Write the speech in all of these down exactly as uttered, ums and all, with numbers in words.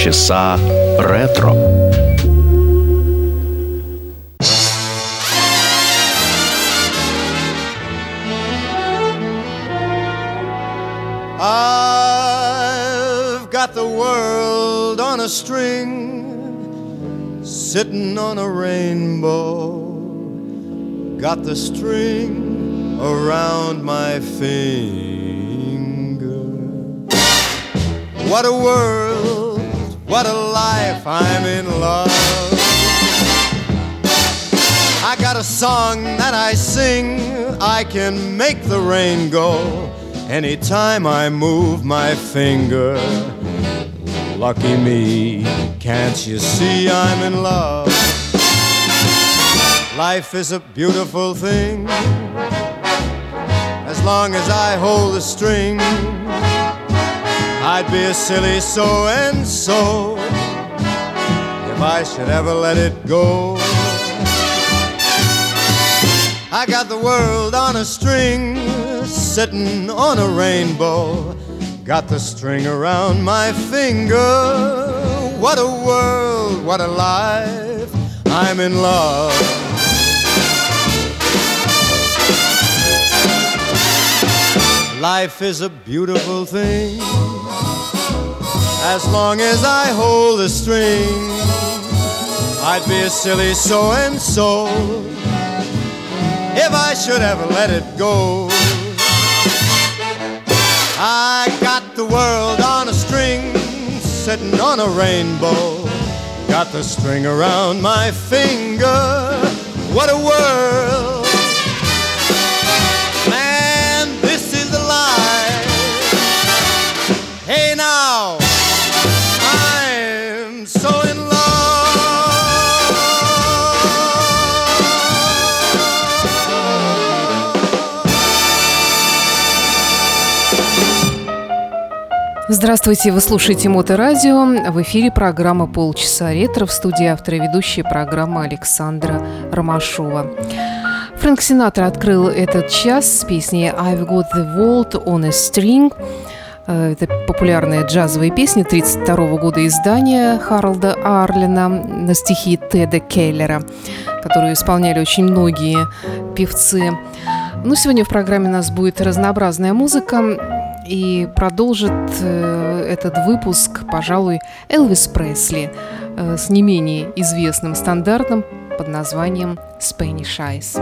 Полчаса ретро. I've got the world on a string, sitting on a rainbow. Got the string around my finger. What a world, what a life, I'm in love. I got a song that I sing, I can make the rain go anytime I move my finger. Lucky me, can't you see I'm in love? Life is a beautiful thing, as long as I hold the string. I'd be a silly so-and-so if I should ever let it go. I got the world on a string, sitting on a rainbow. Got the string around my finger. What a world, what a life, I'm in love. Life is a beautiful thing, as long as I hold the string. I'd be a silly so-and-so if I should ever let it go. I got the world on a string, sitting on a rainbow. Got the string around my finger. What a world, man, this is a life. Hey now, I'm so in love. Здравствуйте, вы слушаете Моторадио. В эфире программа «Полчаса ретро», в студии автора и ведущая программы Александра Ромашова. Фрэнк Синатра открыл этот час с песней «I've got the world on a string». Это популярная джазовая песня тридцать второго года издания Харолда Арлина на стихи Теда Келлера, которую исполняли очень многие певцы. Ну, сегодня в программе у нас будет разнообразная музыка. И продолжит э, этот выпуск, пожалуй, Элвис Пресли э, с не менее известным стандартом под названием «Spanish Eyes».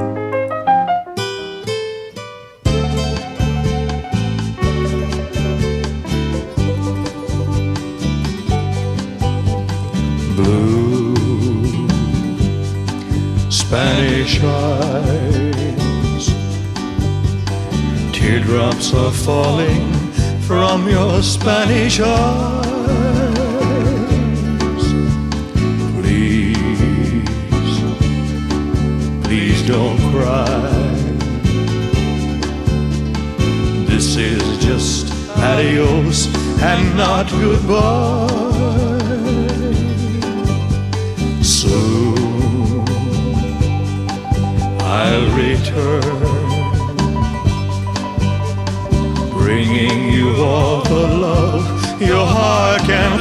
Blue Spanish eyes, teardrops are falling from your Spanish eyes. Please, please don't cry. This is just adios and not goodbye. Soon I'll return, bringing you all the love your heart can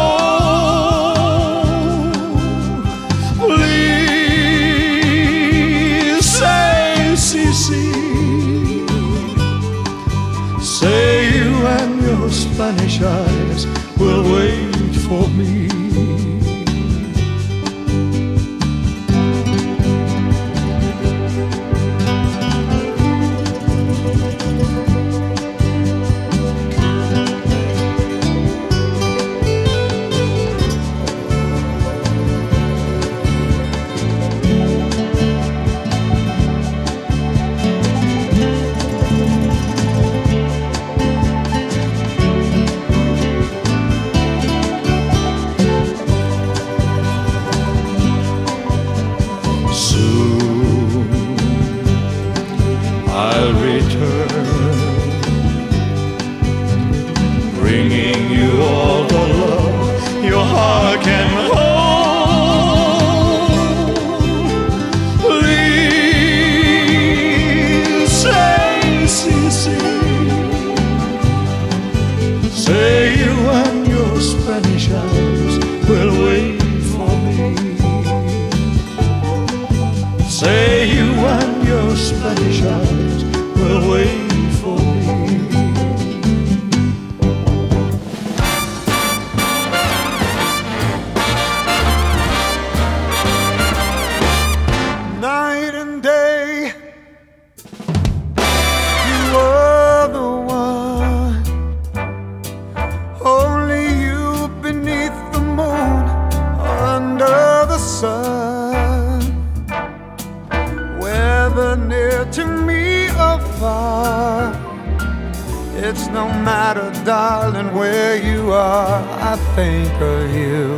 hold. Please say, si, si. Say you and your Spanish eyes will wait for me. Say you and your Spanish eyes It's no matter, darling, where you are, I think of you.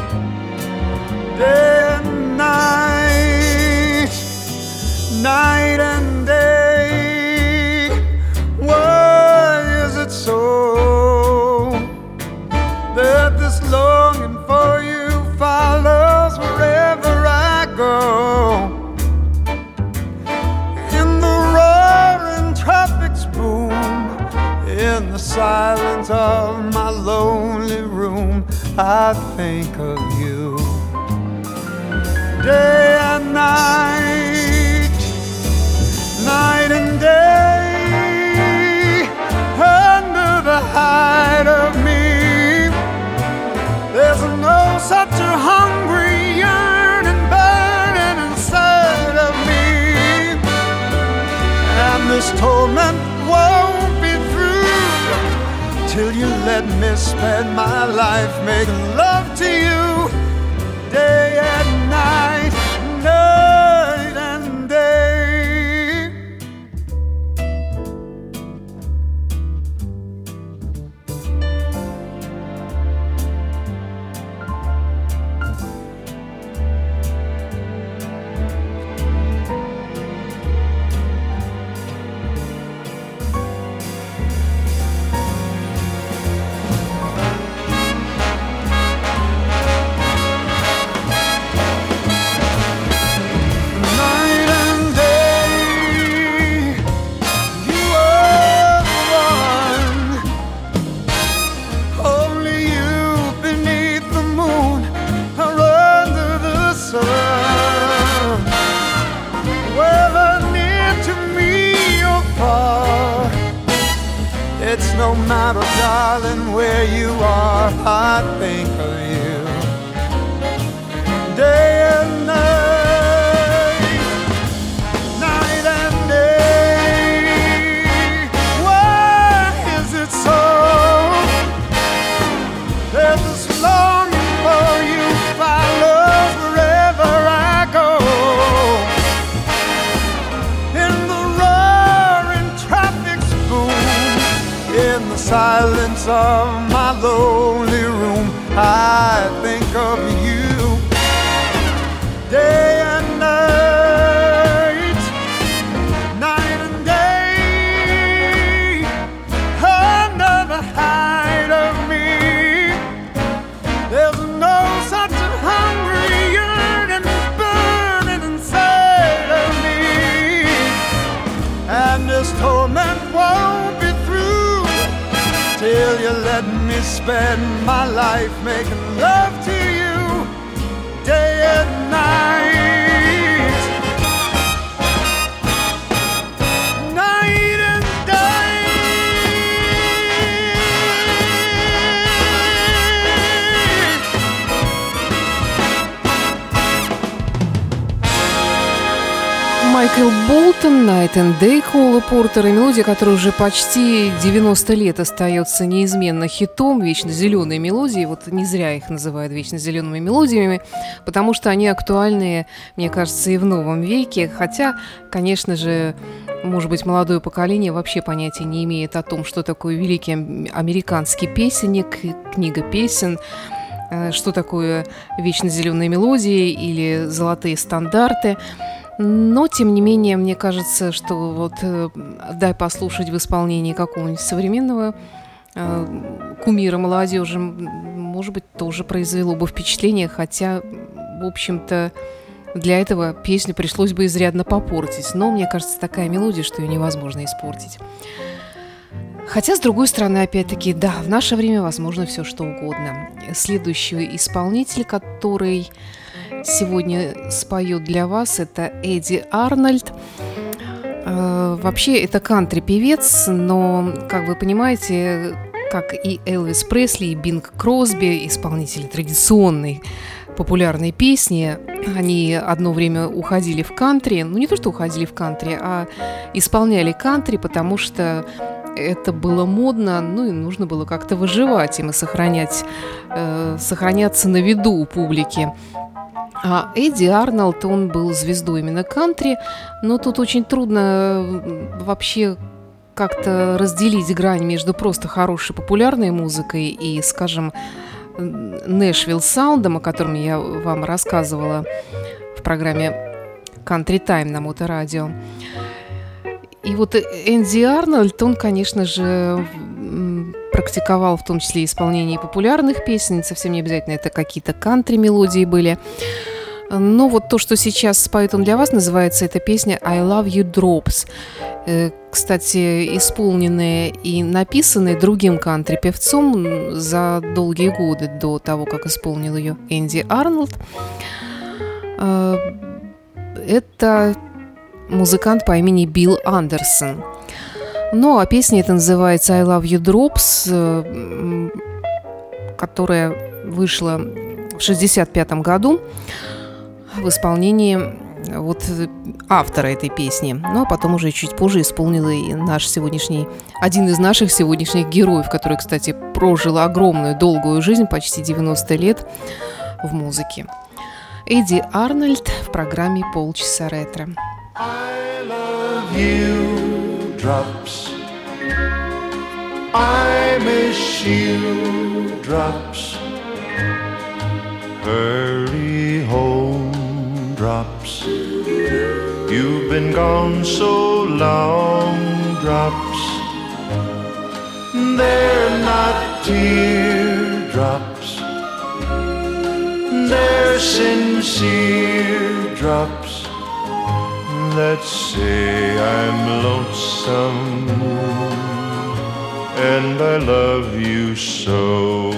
Day and night, night and day. Why is it so that this longing for you follows wherever I go? In the roaring traffic's boom, in the silence of my lonely room, I think of you. Day and night, night and day, under the hide of me, there's no such a hungry yearning burning inside of me. And this torment won't be through till you let me spend my life making love to you. Day and night, night and day. It's no matter, darling, where you are, I think of you. Day and night, night and day. Why is it so that this longing for you follows wherever I go? In the roaring traffic's boom, in the silence of my lonely room, I think of you. Day and night, night and day, under the hide of me, there's no such a hungry yearning burning inside of me. And this torment won't be through till you let me spend my life making love to you. Day and night, night and day. Майкл Болтон, Night and Day Кола Портера, мелодия, которая уже почти девяносто лет остается неизменно хитом, вечно зеленые мелодии. Вот не зря их называют вечно зелеными мелодиями, потому что они актуальны, мне кажется, и в новом веке. Хотя, конечно же, может быть, молодое поколение вообще понятия не имеет о том, что такое великий американский песенник, книга песен, что такое вечно зеленые мелодии или золотые стандарты. Но, тем не менее, мне кажется, что вот э, дай послушать в исполнении какого-нибудь современного э, кумира молодежи, может быть, тоже произвело бы впечатление, хотя, в общем-то, для этого песню пришлось бы изрядно попортить. Но, мне кажется, такая мелодия, что ее невозможно испортить. Хотя, с другой стороны, опять-таки, да, в наше время возможно все, что угодно. Следующий исполнитель, который сегодня споет для вас, это Эдди Арнольд. Э, вообще, это кантри-певец, но, как вы понимаете, как и Элвис Пресли, и Бинг Кросби, исполнители традиционной популярной песни, они одно время уходили в кантри. Ну, не то, что уходили в кантри, а исполняли кантри, потому что это было модно, ну и нужно было как-то выживать им и сохранять, э, сохраняться на виду у публики. А Эдди Арнольд, он был звездой именно кантри, но тут очень трудно вообще как-то разделить грань между просто хорошей популярной музыкой и, скажем, Нэшвилл саундом, о котором я вам рассказывала в программе Country Time на Моторадио. И вот Энди Арнольд, он, конечно же, практиковал в том числе исполнение популярных песен, совсем не обязательно это какие-то кантри-мелодии были. Но вот то, что сейчас споет он для вас, называется эта песня «I Love You Drops». Кстати, исполненная и написанная другим кантри-певцом за долгие годы до того, как исполнил ее Энди Арнольд. Это музыкант по имени Билл Андерсон. Ну, а песня эта называется «I Love You Drops», которая вышла в шестьдесят пятом году в исполнении вот автора этой песни. Ну, а потом уже чуть позже исполнил и наш сегодняшний, один из наших сегодняшних героев, который, кстати, прожил огромную, долгую жизнь, почти девяносто лет в музыке. Эдди Арнольд в программе «Полчаса ретро». I love you, drops. I miss you, drops. Hurry home, drops. You've been gone so long, drops. They're not teardrops. They're sincere drops. Let's say I'm lonesome and I love you so.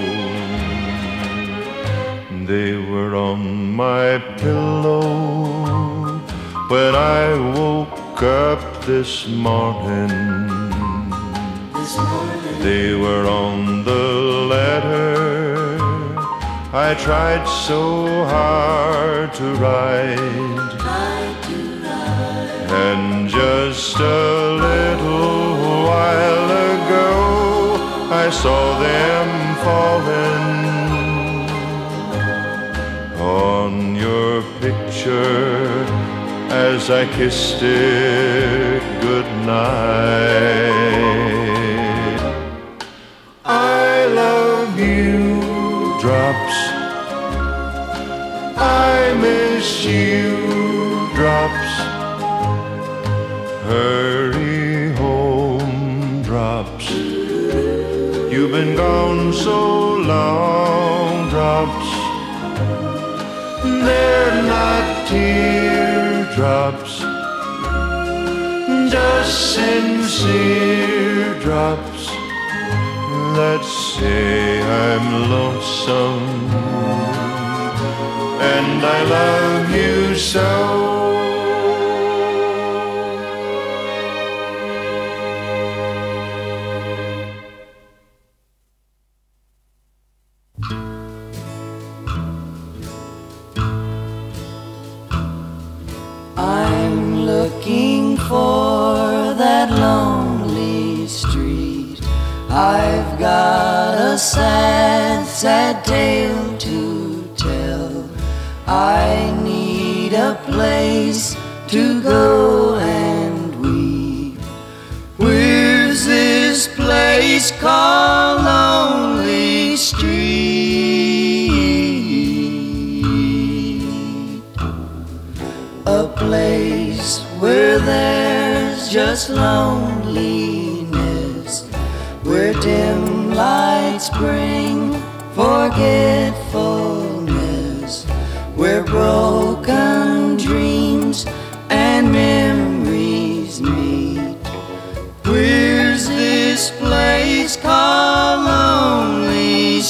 They were on my pillow when I woke up this morning. This morning. They were on the letter I tried so hard to write. And just a little while ago I saw them falling on your picture as I kissed it goodnight. I love you, drops. I miss you, drops. Hurry home, drops. You've been gone so long, drops. They're not teardrops, just sincere drops. Let's say I'm lonesome and I love you so. Looking for that lonely street. I've got a sad, sad tale to tell. I need a place to go and weep. Where's this place called Lonely Street? A place where there's just loneliness, where dim lights bring forgetfulness, where broken dreams and memories meet. Where's this place called Lonely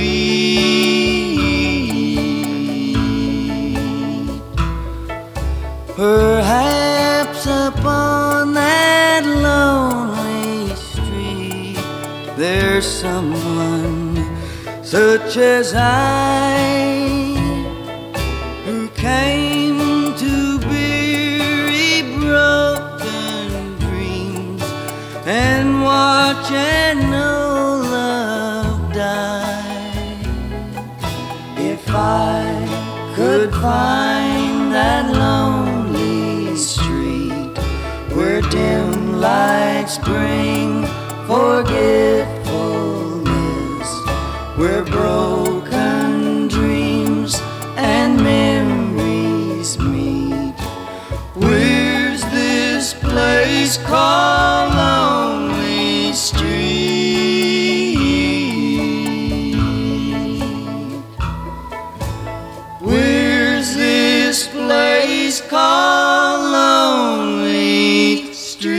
Street? Perhaps upon that lonely street there's someone such as I, who came to bury broken dreams and watch and know love die. If I could find that lonely street where dim like spring forgetfulness, where broken dreams and memories meet. Where's this place called Lonely Street? Where's this place called Lonely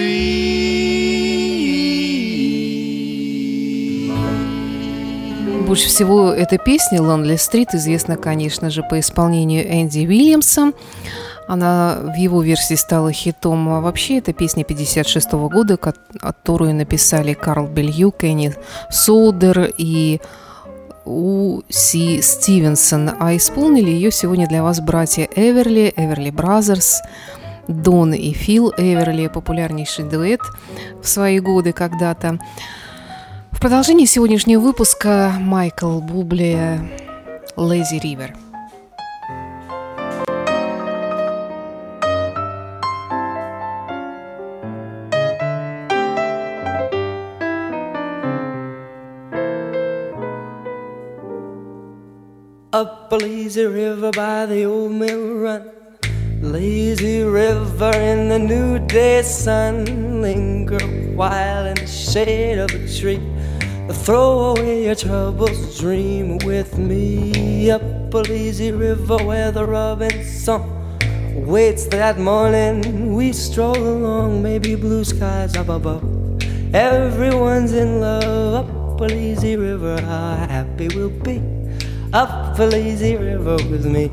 Street? Больше всего эта песня «Lonely Street» известна, конечно же, по исполнению Энди Уильямса. Она в его версии стала хитом. А вообще, это песня пятьдесят шестого года, которую написали Карл Белью, Кенни Соудер и У. Си. Стивенсон. А исполнили ее сегодня для вас братья Эверли, Эверли Бразерс, Дон и Фил Эверли, популярнейший дуэт в свои годы когда-то. В продолжении сегодняшнего выпуска Майкл Бубле «Lazy River». Up a lazy river by the old mill run, lazy river in the new day sun. Linger a while in the shade of a tree, throw away your troubles, dream with me. Up a lazy river where the robin song waits that morning, we stroll along, maybe blue skies up above. Everyone's in love. Up a lazy river, how happy we'll be. Up a lazy river with me.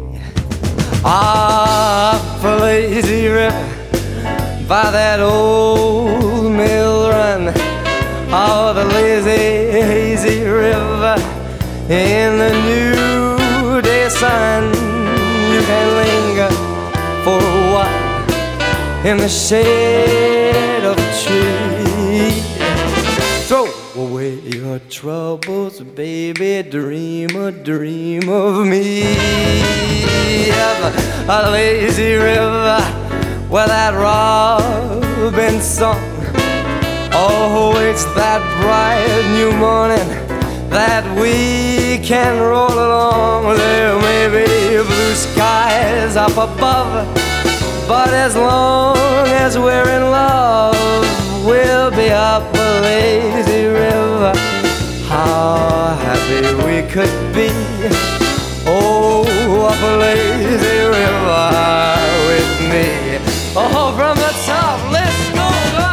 Up a lazy river by that old mill run. Oh, the lazy, hazy river in the new day sun. You can linger for a while in the shade of a tree. Throw away your troubles, baby, dream a dream of me. Up a lazy river where that robin song, oh, it's that bright new morning that we can roll along. There may be blue skies up above, but as long as we're in love, we'll be up a lazy river. How happy we could be. Oh, up a lazy river with me. Oh, from the top, let's go up.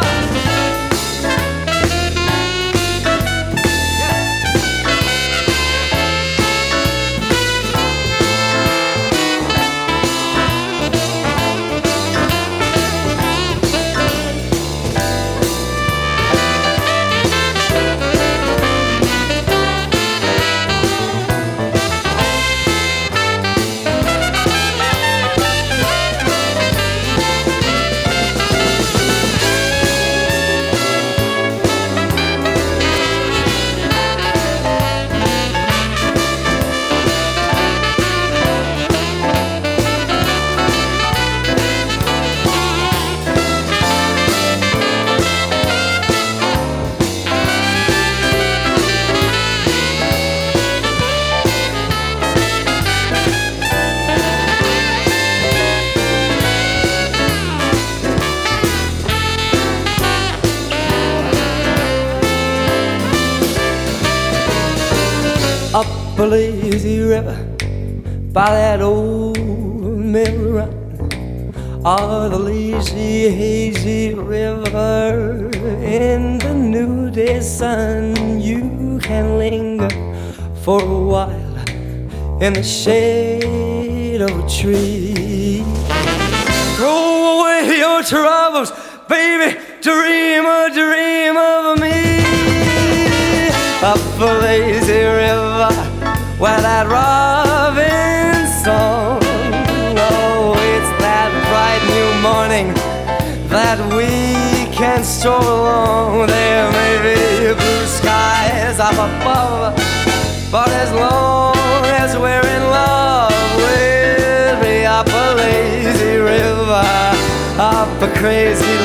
Up a lazy river by that old mill run. Oh, the lazy, hazy river in the new day sun. You can linger for a while in the shade of a tree. Throw away your troubles, baby, dream a dream of me. Up a lazy river where that robin song, oh, it's that bright new morning that we can stroll along. There may be blue skies up above, but as long as we're in love, we'll be up a lazy river, up a crazy lake.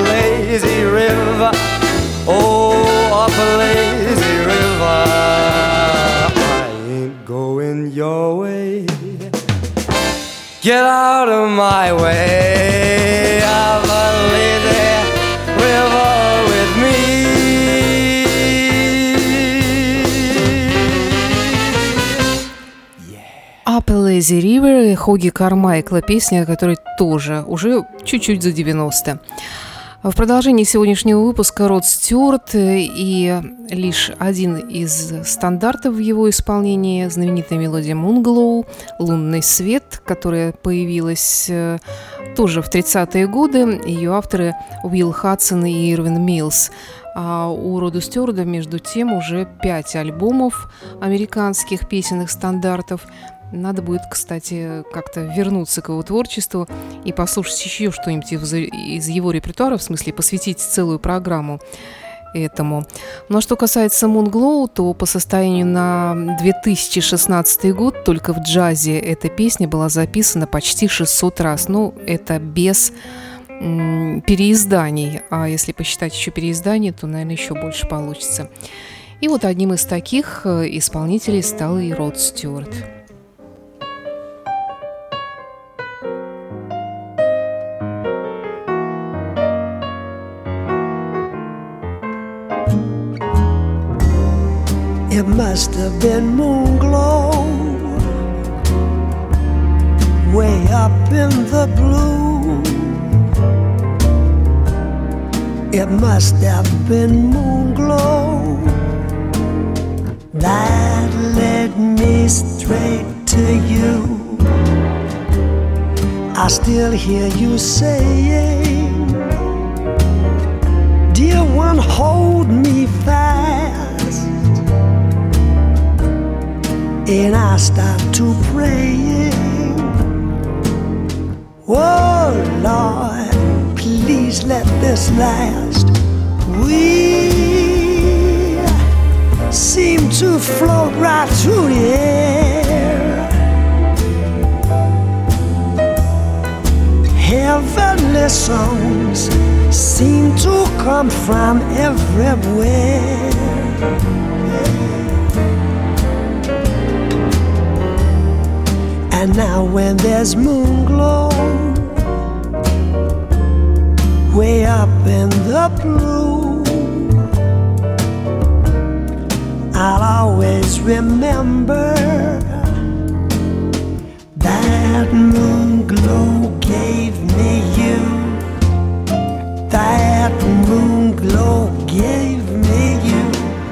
lazy river, oh, up a lazy river. I ain't going your way. Get out of my way. Up a lazy river with me. Up a Lazy River, Хоги Кармайкла, песня, которая тоже уже чуть-чуть за девяносто. В продолжении сегодняшнего выпуска Род Стюарт и лишь один из стандартов в его исполнении, знаменитая мелодия Moonglow, «Лунный свет», которая появилась тоже в тридцатые годы. Ее авторы Уилл Хадсон и Ирвин Миллс. А у Рода Стюарда, между тем, уже пять альбомов американских песенных стандартов. Надо будет, кстати, как-то вернуться к его творчеству и послушать еще что-нибудь из его репертуара, в смысле посвятить целую программу этому. Но что касается Moonglow, то по состоянию на две тысячи шестнадцатый год только в джазе эта песня была записана почти шестьсот раз. Ну, это без м- переизданий. А если посчитать еще переиздания, то, наверное, еще больше получится. И вот одним из таких исполнителей стал и Род Стюарт. It must have been Moonglow, way up in the blue. It must have been Moonglow that led me straight to you. I still hear you saying, dear one, hold me fast. And I start to praying, oh Lord, please let this last. We seem to float right through the air. Heavenly songs seem to come from everywhere. And now when there's Moonglow way up in the blue, I'll always remember that Moonglow gave me you. That Moonglow gave me you.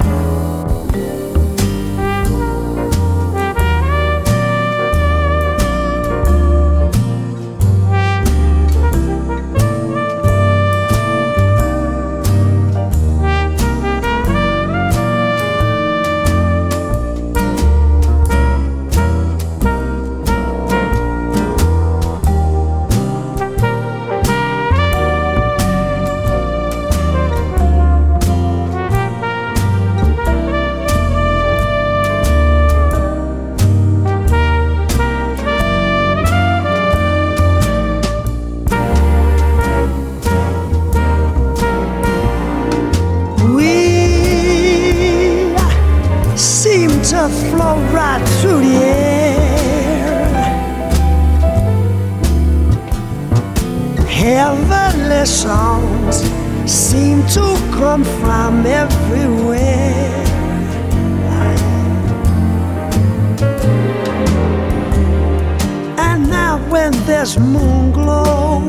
Flow right through the air. Heavenly songs seem to come from everywhere. And now when there's Moonglow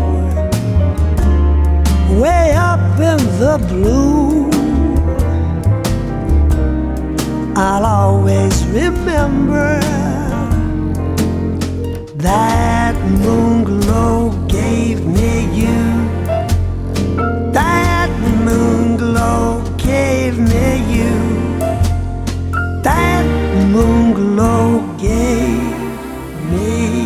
way up in the blue, I'll always remember that Moonglow gave me you. That Moonglow gave me you. That Moonglow gave me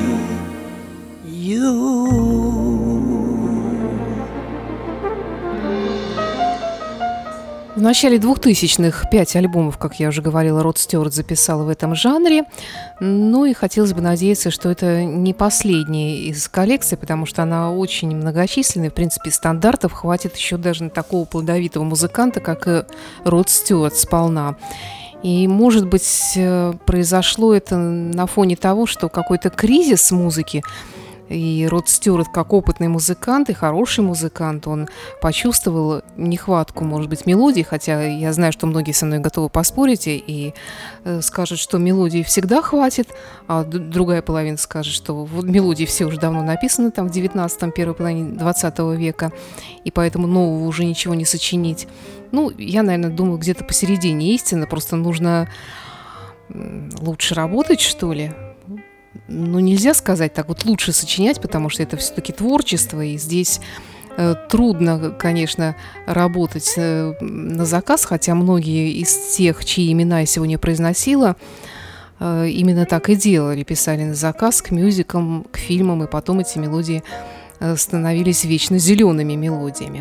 you. В начале двухтысячных пять альбомов, как я уже говорила, Род Стюарт записал в этом жанре. Ну и хотелось бы надеяться, что это не последняя из коллекций, потому что она очень многочисленная. В принципе, стандартов хватит еще даже на такого плодовитого музыканта, как и Род Стюарт, сполна. И, может быть, произошло это на фоне того, что какой-то кризис музыки, и Род Стюарт, как опытный музыкант и хороший музыкант, он почувствовал нехватку, может быть, мелодий, хотя я знаю, что многие со мной готовы поспорить и, и э, скажут, что мелодий всегда хватит, а д- другая половина скажет, что вот мелодии все уже давно написаны там в девятнадцатом, первой половине двадцатого века, и поэтому нового уже ничего не сочинить. Ну, я, наверное, думаю, где-то посередине истины, просто нужно лучше работать, что ли. Ну, нельзя сказать так, вот лучше сочинять, потому что это все-таки творчество, и здесь э, трудно, конечно, работать э, на заказ, хотя многие из тех, чьи имена я сегодня произносила, э, именно так и делали, писали на заказ к мюзиклам, к фильмам, и потом эти мелодии э, становились вечно зелеными мелодиями.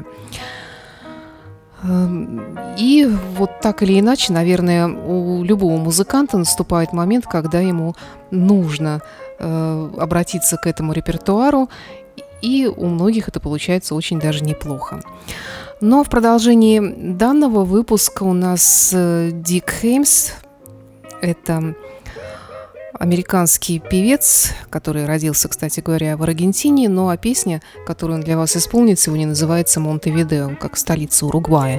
И вот так или иначе, наверное, у любого музыканта наступает момент, когда ему нужно э, обратиться к этому репертуару, и у многих это получается очень даже неплохо. Но в продолжении данного выпуска у нас э, Дик Хеймс, это американский певец, который родился, кстати говоря, в Аргентине, но а песня, которую он для вас исполнит сегодня, называется «Монтевидео», как столица Уругвая.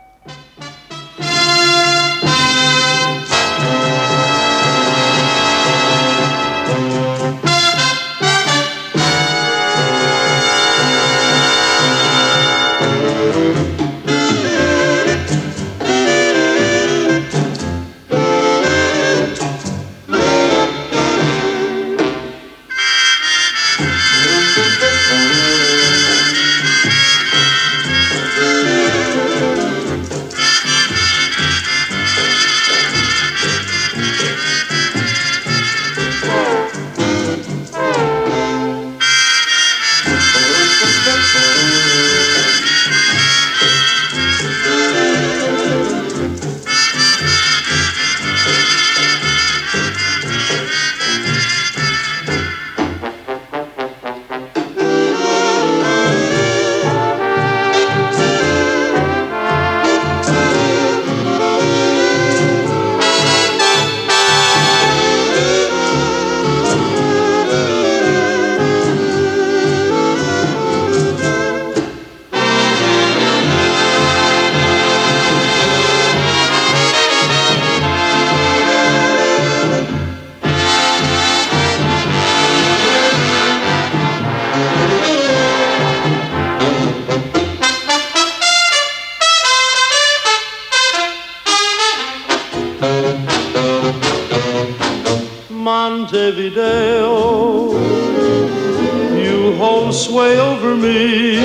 Montevideo, you hold sway over me,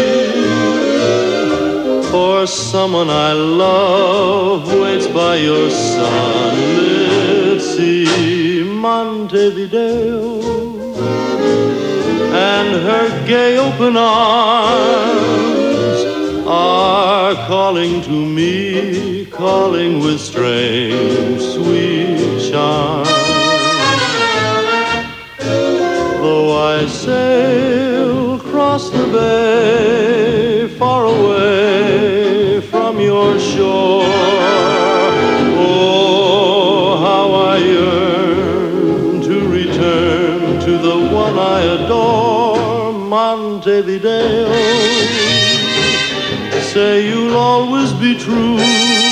for someone I love waits by your sunlit sea. Montevideo, and her gay open arms are calling to me, calling with strange sweet charm. Though I sail across the bay, far away from your shore, oh, how I yearn to return to the one I adore. Montevideo, say you'll always be true,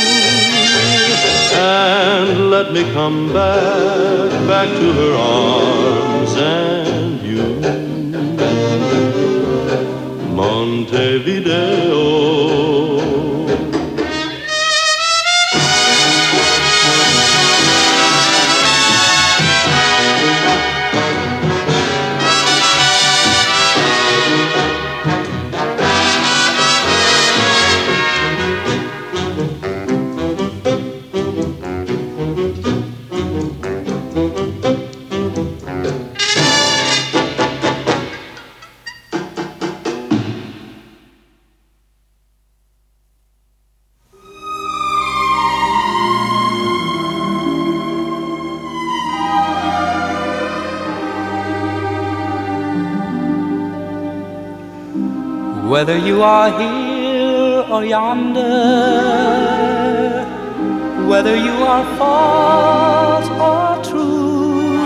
and let me come back, back to her arms and you. Montevideo. whether you are here or yonder, whether you are false or true,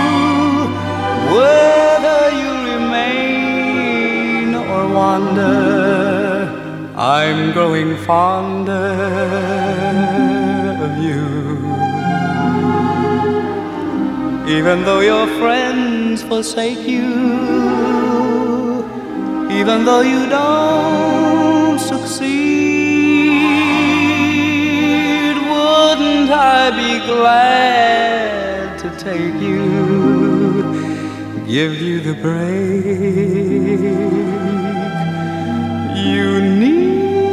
whether you remain or wander, I'm growing fonder of you. Even though your friends forsake you, even though you don't succeed, wouldn't I be glad to take you, give you the break you need?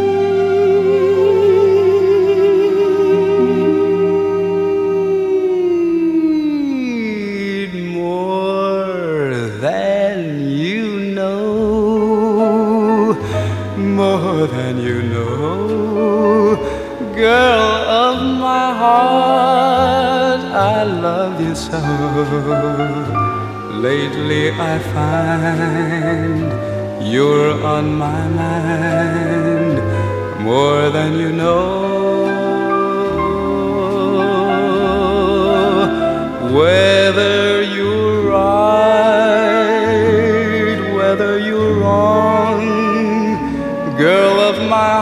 More than you know, girl of my heart, I love you so. Lately I find you're on my mind more than you know. Whether you're right, whether you're wrong, girl of my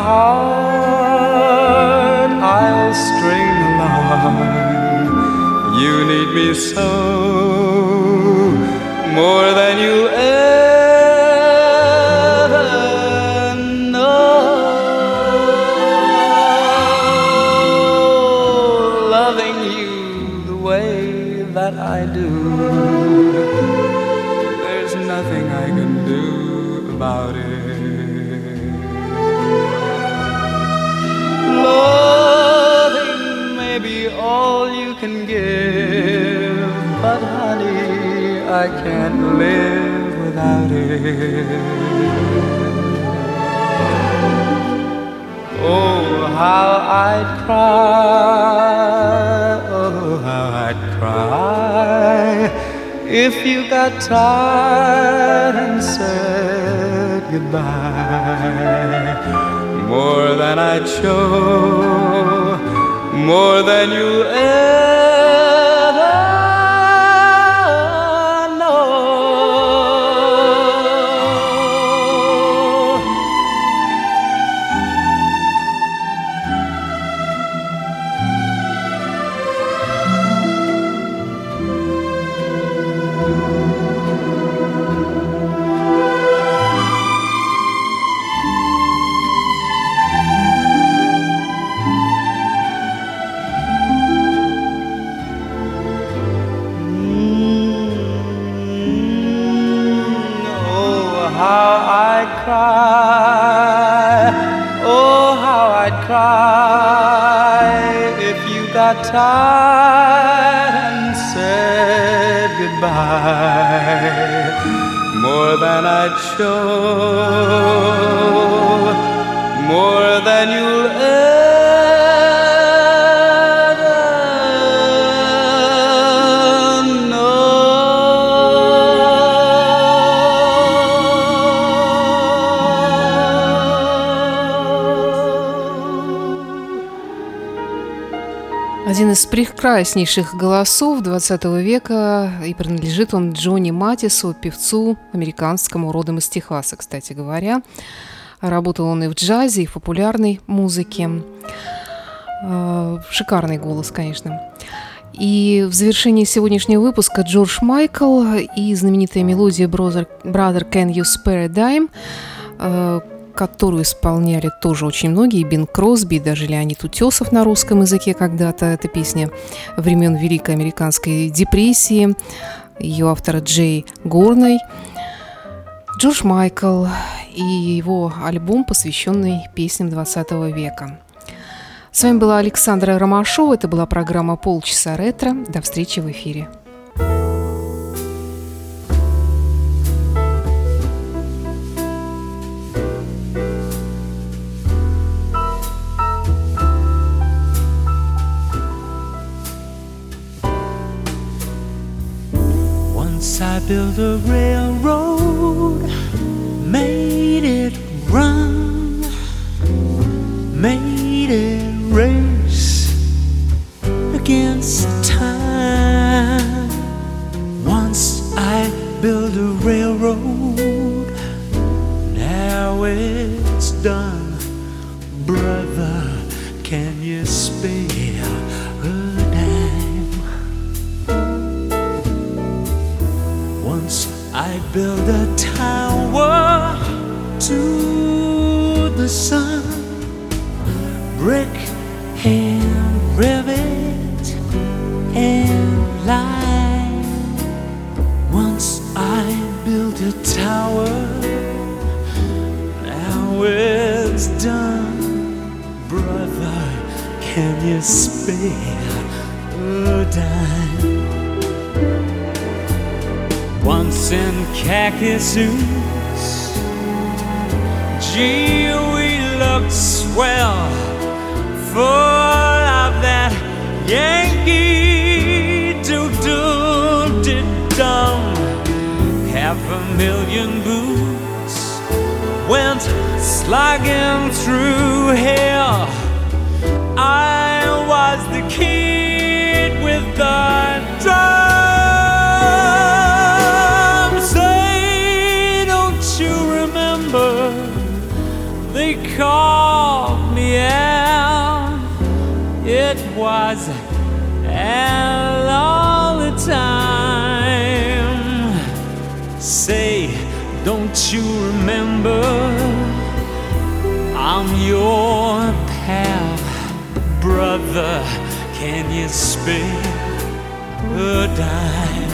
heart, I'll string along. You need me so, more than you'll ever know. Loving you the way that I do, there's nothing I can do about it. Loving may be all you can give, but honey, I can't live without it. Oh, how I'd cry, oh, how I'd cry if you got tired and said goodbye. More than I'd show, more than you'll ever know. Cry, oh how I'd cry if you got tired and said goodbye. More than I'd show, more than you'll ever Один из прекраснейших голосов двадцатого века, и принадлежит он Джонни Матису, певцу американскому, родом из Техаса, кстати говоря. Работал он и в джазе, и в популярной музыке. Шикарный голос, конечно. И в завершении сегодняшнего выпуска Джордж Майкл и знаменитая мелодия «Brother, Brother Can You Spare a Dime», которую исполняли тоже очень многие, Бин Кросби, даже Леонид Утесов на русском языке когда-то. Эта песня времен Великой Американской депрессии, ее автора Джей Горной. Джордж Майкл и его альбом, посвященный песням двадцатого века. С вами была Александра Ромашова. Это была программа «Полчаса ретро». До встречи в эфире. I built a railroad, made it against time. Once I built a railroad, now it's done. Brother, can you spare a dime? Once I built a tower to the sun, brick and rivet and lime. Once I built a tower, now it's done. Brother, can you spare a dime? Once in khaki suits, gee, we looked swell, full of that Yankee doo-doo-dee-dum. Half a million boots went slogging through hell. I was the kid with the drum. Say, don't you remember? They called me out. It was Al all the time. Say, don't you remember? I'm your pal. Brother, can you spare a dime?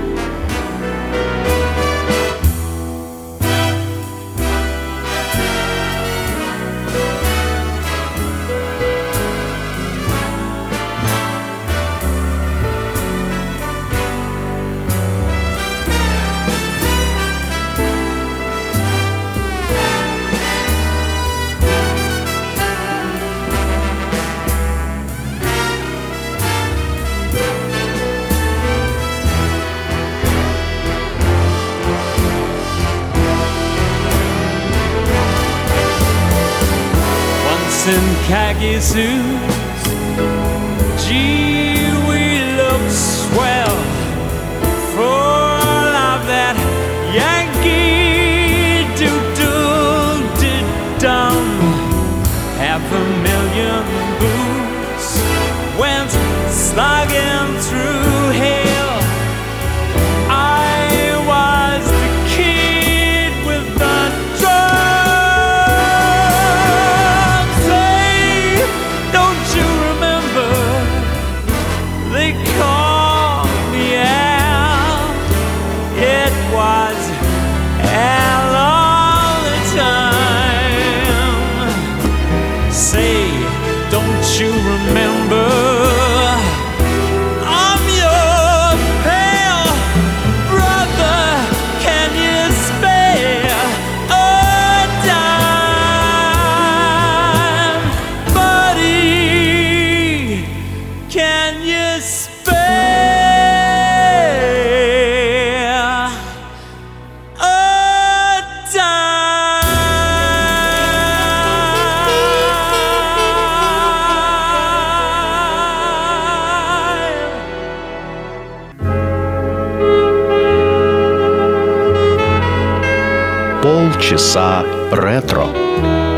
In khaki suits, gee, we look swell, full of that Yankee doo-doo-dee-dum. Half a million boots went slogging through hell. I was the kid with the drum. They called me out. It was Al all the time. Say, don't you remember? I'm your pal. Brother, can you spare a dime? Buddy, can you spare a Полчаса ретро.